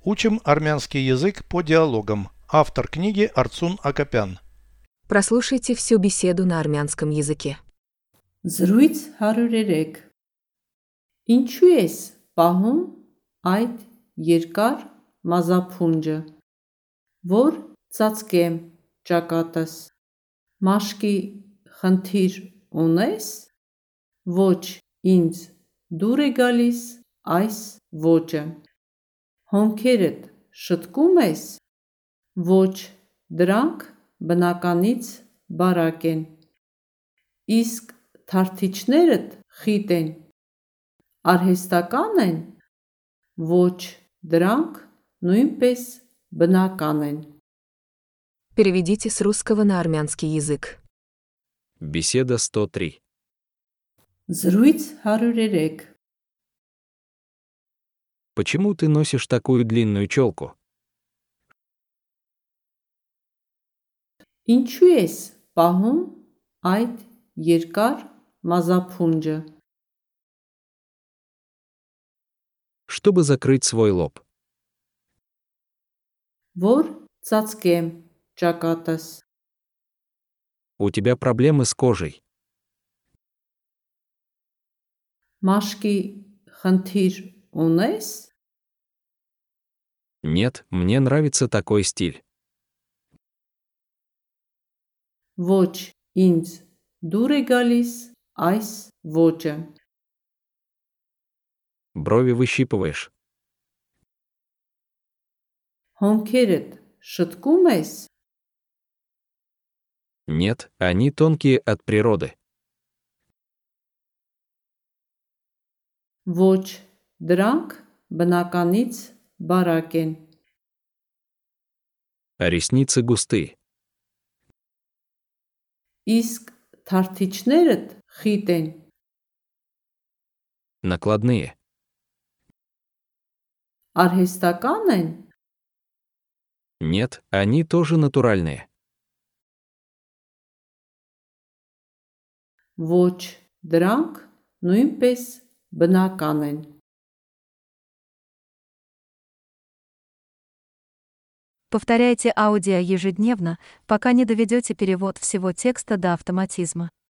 Учим армянский язык по диалогам. Автор книги Арцун Акопян. Прослушайте всю беседу на армянском языке. Զրույց 103 Ինչու ես պահում այդ երկար մազափունջը, որ ծածկեմ ճակատս, մաշկի խնդիր ունես, ոչ ինձ դուր է գալիս այս ոճը, հոնքերդ շտկում ես, ոչ դրանք բնականից բարակ են, իսկ թարթիչներդ խիտ են, արհեստական են, ոչ դրանք նույնպես բնական են։ Переведите с русского на армянский язык. Беседа 103. Զրույց 103 Почему ты носишь такую длинную челку? Ինչու ես պահում այդ երկար մազափունջը, Чтобы закрыть свой лоб. որ ծածկեմ ճակատս, У тебя проблемы с кожей. մաշկի խնդիր ունես, Нет, мне нравится такой стиль. ոչ ինձ դուր է գալիս այս ոճը, Брови выщипываешь. հոնքերդ շտկում ես, Нет, они тонкие от природы. ոչ դրանք բնականից բարակ են, А ресницы густые. իսկ թարթիչներդ խիտ են, Накладные. արհեստական են, Нет, они тоже натуральные. ոչ դրանք նույնպես բնական են։ Повторяйте аудио ежедневно, пока не доведете перевод всего текста до автоматизма.